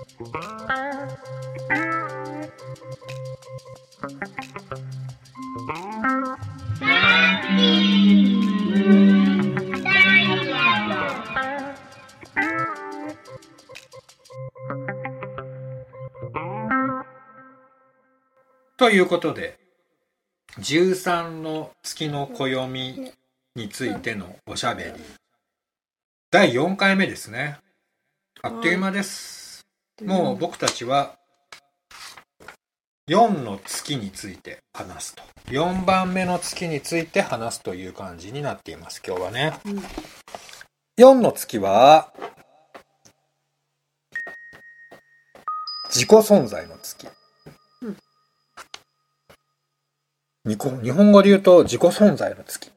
ということで、13の月の暦についてのおしゃべり、第4回目ですね。あっという間です。もう僕たちは4の月について話すと、4番目の月について話すという感じになっています、今日はね。4の月は自己存在の月。日本語で言うと自己存在の月。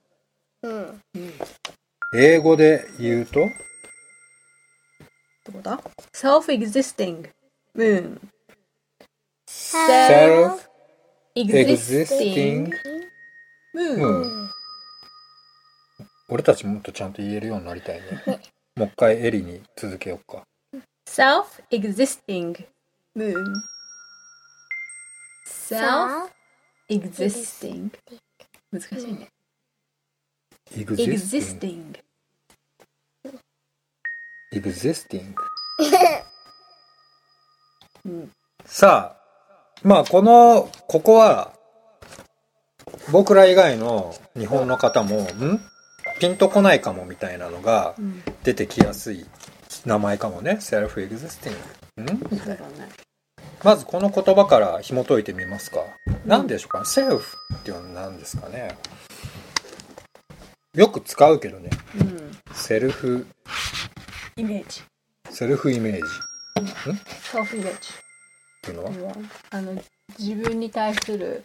英語で言うとどこだ ?self-existing moon。 self-existing moon。俺たちもっとちゃんと言えるようになりたいね。もう一回エリに続けようか。 self-existing moon。self-existing。難しいね。existing。 さあ、まあここは僕ら以外の日本の方もピンとこないかもみたいなのが出てきやすい名前かもね。self-existing。まずこの言葉から紐解いてみますか。何でしょうか。self っていうのは何ですかね。よく使うけどね。セルフイメージ。 セルフイメージ。 セルフイメージっていうのは自分に対する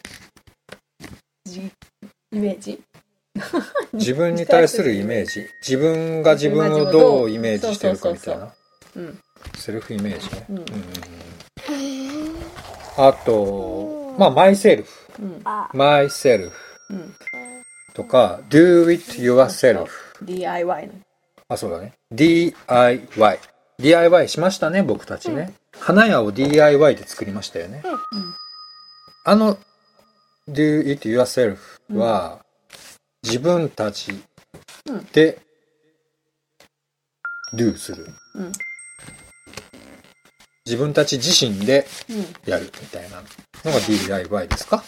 イメージ。 自分に対するイメージ。自分が自分をどうイメージしてるかみたいな。セルフイメージね。あと、まあ、マイセルフとか、do it yourself。DIY の。あ、そうだね。DIY しましたね、僕たちね。花屋を DIY で作りましたよね。do it yourself は、自分たちで do する。自分たち自身でやるみたいなのが DIY ですか。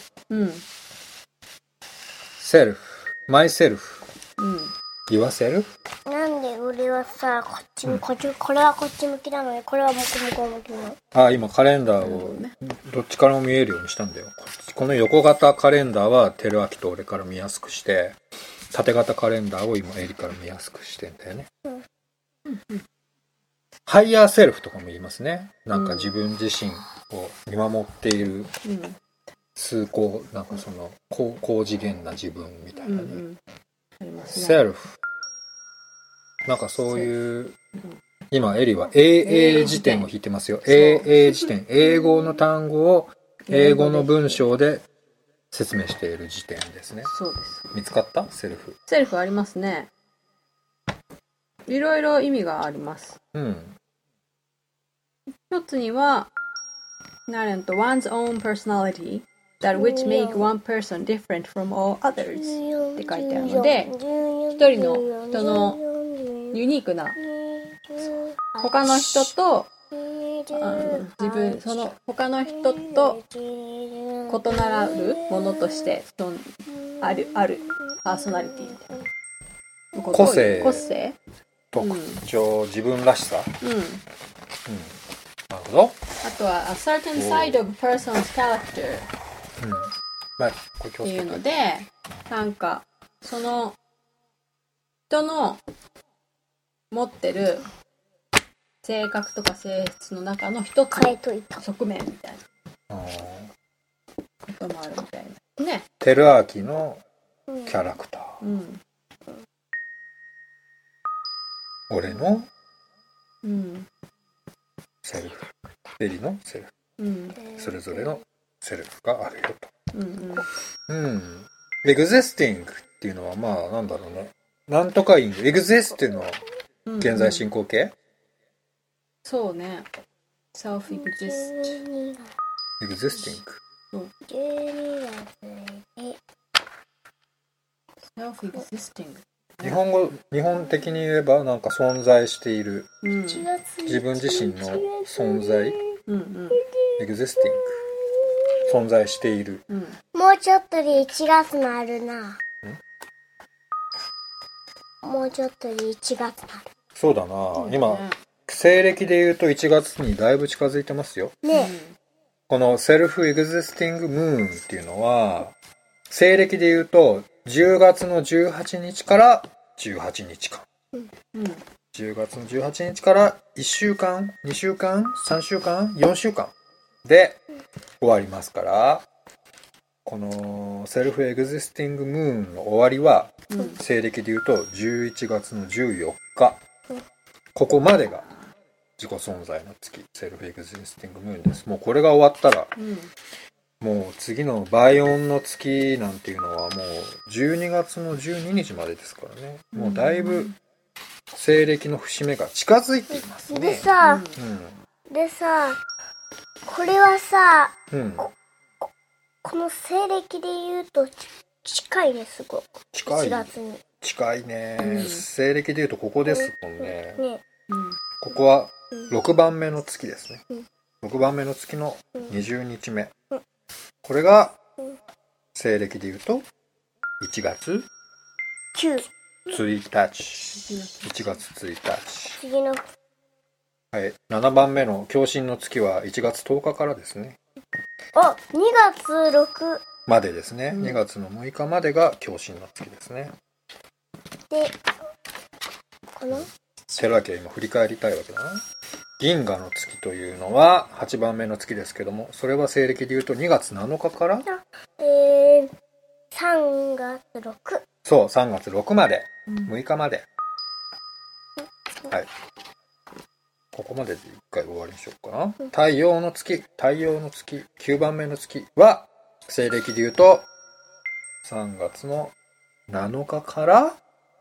セルフ、マイセルフ、yourself。 なんで俺はさ、こっちこれはこっち向きなのに、これは向こう向きなの。 今カレンダーをどっちからも見えるようにしたんだよ。この横型カレンダーはテルアキと俺から見やすくして、縦型カレンダーを今エリから見やすくしてんだよね。ハイヤーセルフとかも言いますね。なんか自分自身を見守っているなんかその高次元な自分みたいなね。セルフ。なんかそういう、今エリは AA 辞典を引いてますよ。AA 辞典。英語の単語を英語の文章で説明している辞典ですね。 そうです。 見つかった？セルフ。 セルフありますね。いろいろ意味があります。一つには、one's own personality that which make one person different from all others って書いてあるので、一人の人のユニークな他の人と他の人と異なるものとしてあるパーソナリティみたいな個性特徴、自分らしさ。なるほど。 あとは a certain side of a person's character っていうので、なんかその人の持ってる性格とか性質の中の一つの側面みたいなこともあるみたいなね。 テルアーキのキャラクター、俺のセルフ、エリのセルフ、それぞれのセルフがあるよと。エグゼスティングっていうのはまあなんだろうね。なんとかエグゼスっていうのは現在進行形、 そうね。 self-exist 12 existing 12月に self-existing 日本的に言えばなんか存在している、 1月自分自身の存在、 うん existing 存在している、 もうちょっとで1月になるな。もうちょっとで1月になる。 そうだな、今西暦で言うと1月にだいぶ近づいてますよ。 ねこのセルフエグジスティングムーンっていうのは西暦で言うと10月の18日から18日間、10月の18日から1週間2週間3週間4週間で終わりますから、このセルフエグジスティングムーンの終わりは、西暦で言うと11月の14日、ここまでが自己存在の月、セルフエグジスティングムーンです。もうこれが終わったら、もう次の倍音の月なんていうのはもう12月の12日までですからね。もうだいぶ西暦の節目が近づいていますね。 でさ、これはさ、この西暦で言うと近いね、すごく。 近い。 1月に。 近いね、西暦で言うとここですもんね。 ね。 ここは6番目の月ですね。6番目の月の20日目。これが西暦で言うと1月 9。 1日。1月1日。 次の。 はい。7番目の共振の月は1月10日からですね。 あ、2月6。 までですね。2月の6日までが共振の月ですね。 で、このテラケ今振り返りたいわけだな。銀河の月というのは8番目の月ですけども、それは西暦で言うと2月7日から、 3月6。 そう、3月6まで、6日まで。はい。ここまでで一回終わりにしようかな。太陽の月、9番目の月は、西暦で言うと、3月の7日から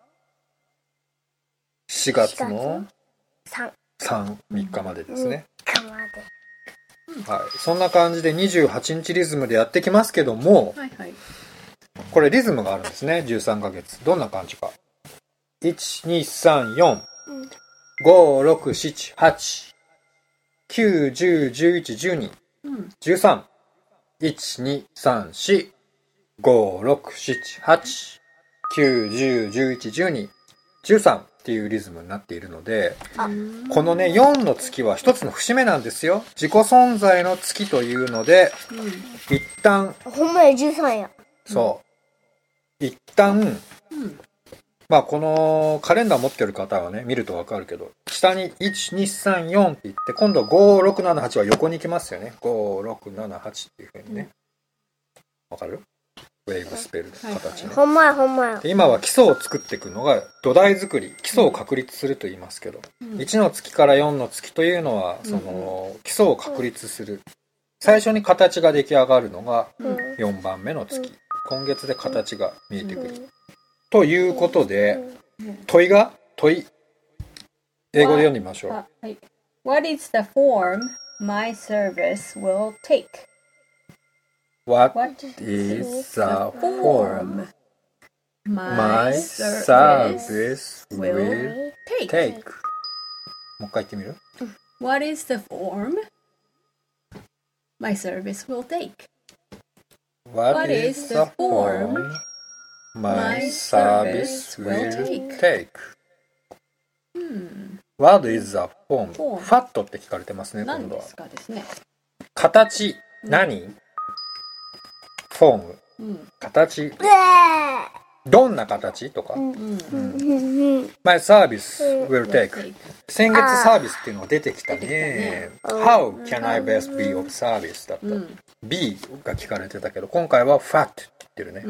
4月の3日までですね。 3日まで。 はい。そんな感じで28日リズムでやってきますけども、 はいはい。 これリズムがあるんですね。13ヶ月。どんな感じか。1、2、3、4、5、6、7、8、9、10、11、12、13、1、2、3、4、5、6、7、8、9、10、11、12、13っていうリズムになっているので、このね、4の月は一つの節目なんですよ。自己存在の月というので、一旦、 ほんまや13や。 そう。一旦、まあこのカレンダー持ってる方はね、見るとわかるけど、下に1、2、3、4って言って、今度5、6、7、8は横に行きますよね。5、6、7、8っていう風にね。わかる？ウェーブスペルの形ね。 ほんまやほんまや。 で今は基礎を作っていくのが土台作り、基礎を確立すると言いますけど、1の月から4の月というのは、その基礎を確立する。最初に形が出来上がるのが4番目の月。今月で形が見えてくる。ということで、問い、英語で読んでみましょう。 はい。What is the form my service will take? What is the form my service will take? もう一回言ってみる？ What is the form my service will take? What is the form my service will take? What is the form? ファットって聞かれてますね、今度は。 何ですかですね。 形、何？フォーム、形、どんな形とか。My service will take. 先月サービスっていうのが出てきたね。How can I best be of service? だった。be が聞かれてたけど、今回は fat って言ってるね。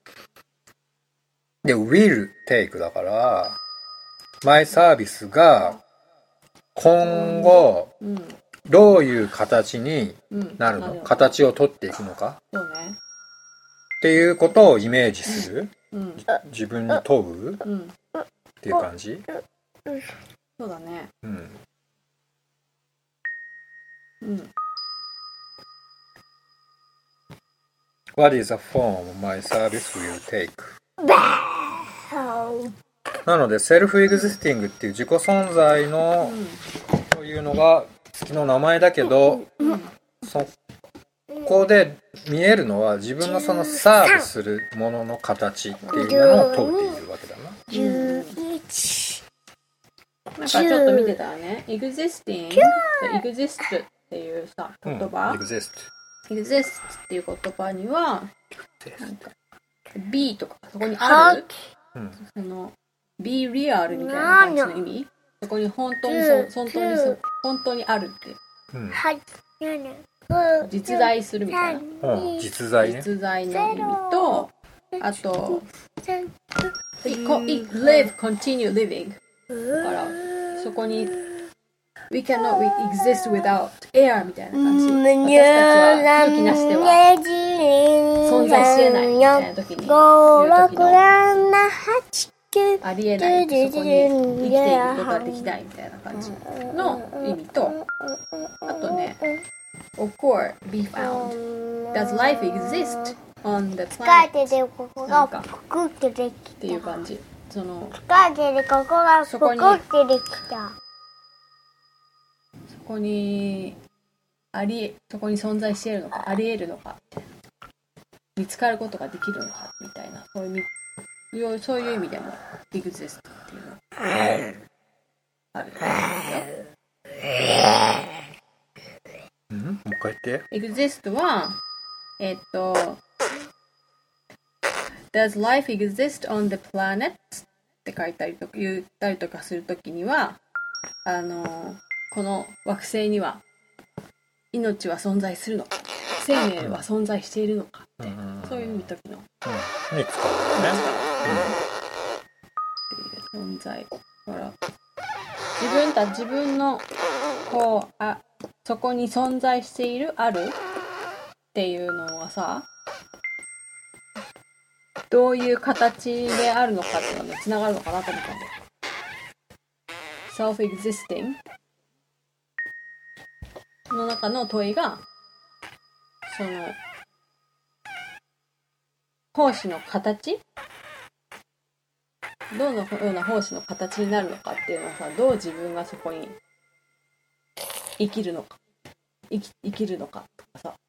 で、will take だから、my service が今後、どういう形になるの？形を取っていくのか？ そうね。 っていうことをイメージする、自分に問う、っていう感じ、 そうだね。 うん。 What is a form my service will take? なのでセルフエグジスティングっていう自己存在の、というのが月の名前だけど、そこで見えるのは自分のそのサーブするものの形っていうものを問うているわけだな。 なんかちょっと見てたらね、existing、exist っていうさ言葉、 exist っていう言葉にはなんか be とかそこにある、その be real みたいな感じの意味、そこに本当にあるって、実在するみたいな、 実在ね、 実在の意味と、あと live continue living だからそこに we cannot exist without air みたいな感じ、私たちは空気なしでは存在しえないみたいな時に言う時のありえない、そこに生きていくことができないみたいな感じの意味と、あとね occur, be found, does life exist on the planet なんかっていう感じ、そのそこにそこに存在しているのか、ありえるのか、見つかることができるのかみたいな、そういう意味でも exist っていうのがある。 もう一回言って。 exist はDoes life exist on the planet? って書いたりとか言ったりとかするときには、この惑星には命は存在するのか、生命は存在しているのかって、そういう時の、 に使うよね。 存在から自分のこうそこに存在しているあるっていうのはさ、どういう形であるのかっていうのにつながるのかなと思ったんだよ。self-existing の中の問いが、その胞子の形、どのような胞子の形になるのかっていうのはさ、どう自分がそこに生きるのかとかさ、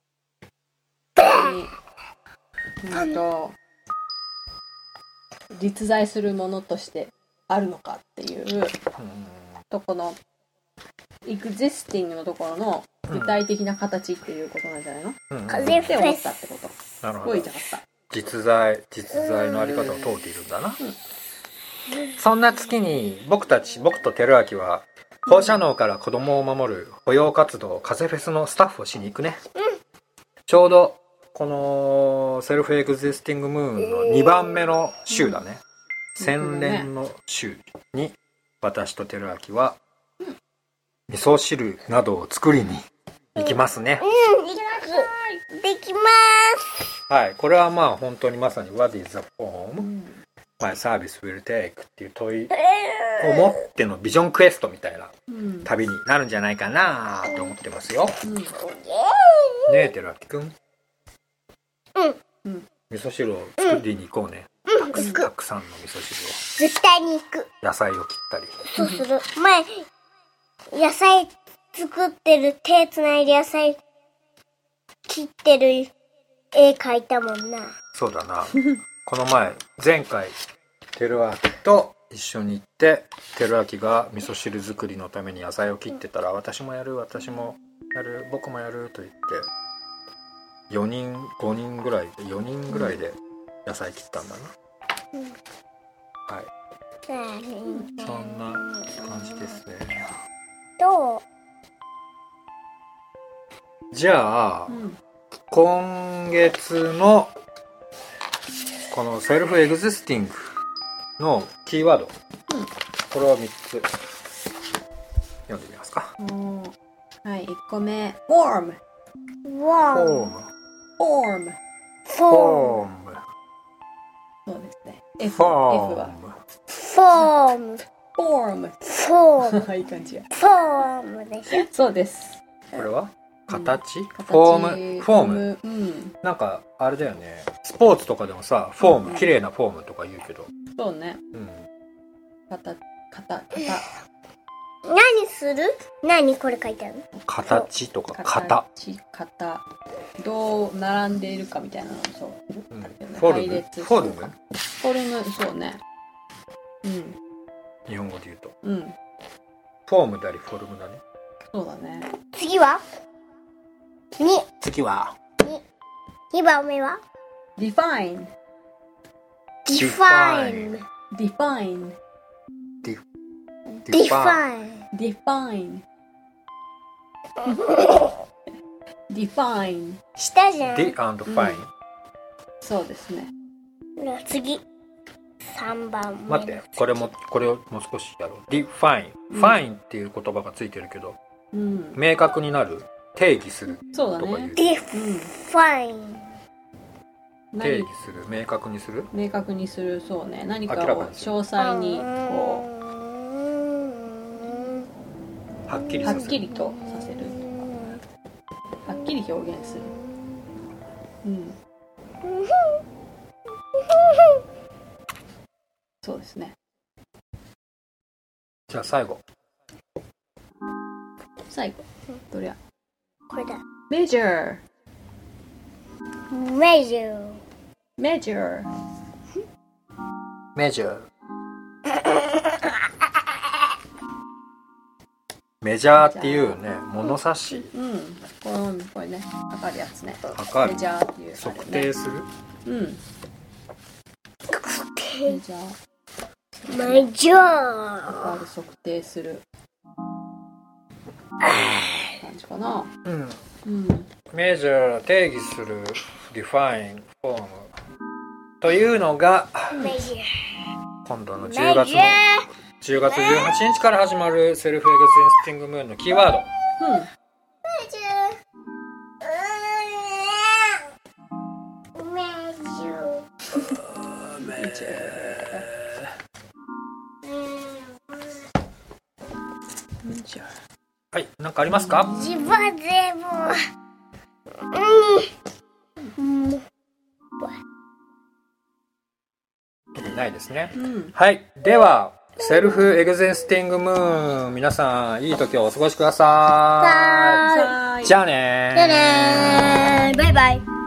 実在するものとしてあるのかっていうとこの existing のところの具体的な形っていうことなんじゃないの？って思ったってことなるほど。 を言いたかった。 実在のあり方を問うているんだな。そんな月に僕と輝明は放射能から子供を守る保養活動風フェスのスタッフをしに行くね。ちょうどこのセルフエグジスティングムーンの2番目の週だね。洗練の週に私と輝明は味噌汁などを作りに行きますね。 できます。 はい、これはまあ本当にまさに What is the form my service will take っていう問いを持ってのビジョンクエストみたいな旅になるんじゃないかなと思ってますよ。ねえ輝明くん。味噌汁を作りに行こうね。たくさんの味噌汁を。 絶対に行く。 野菜を切ったり。 そうする。前野菜作ってる、手つないで野菜切ってる絵描いたもんな。 そうだな。この前回輝明と一緒に行って輝明が味噌汁作りのために野菜を切ってたら、私もやる僕もやると言って4人5人ぐらいで4人ぐらいで野菜切ったんだな。はい、そんな感じですね。 どう？ じゃあ、今月のこのセルフエグジスティングのキーワード、これを3つ読んでみますか。 はい、1個目 form そうですね。F はフォームいい感じや。 フォームでしょ。 そうです。 これは形、 形フォーム、 うん、 なんかあれだよね、スポーツとかでもさフォーム、綺麗なフォームとか言うけど、 そうね、 うん、 何する？何これ書いてあるの？ 形とか型、 どう並んでいるかみたいなのもそう、 うん、フォルム、 そうね、うん、 日本語で言うと、 うん、 フォームでありフォルムだね。 そうだね。 次は次は 2番目は define define define define define define したじゃん。 D and fine、 そうですね。 次3番目。 待って、これをもう少しやろう。define、fine っていう言葉がついてるけど、 うん、 明確になる、定義するそうだとか言う。 ね。 define 定義する、明確にする、 明確にする、そうね。何かを詳細にこうはっきりはさせる、 っきりとさせるとか、はっきり表現する。うん。そうですね。 じゃあ最後どれや。 これだ。 measure measure measure メジャーっていうね、物差し、 うん、これね、測るやつね。 測る、 メジャーっていう、 測定する、 うん、メジャー、 メジャー測る、測定する感じかな。 うん、 うん、 メジャー、定義する、define、フォームというのが今度の10月18日から始まるセルフエグゼンスティングムーンのキーワード。はい、何かありますか？ 自分でも特にないですね、 うん、 はい、ではセルフエグゼンスティングムーン、皆さんいい時をお過ごしください。じゃあねー。 バイバイ。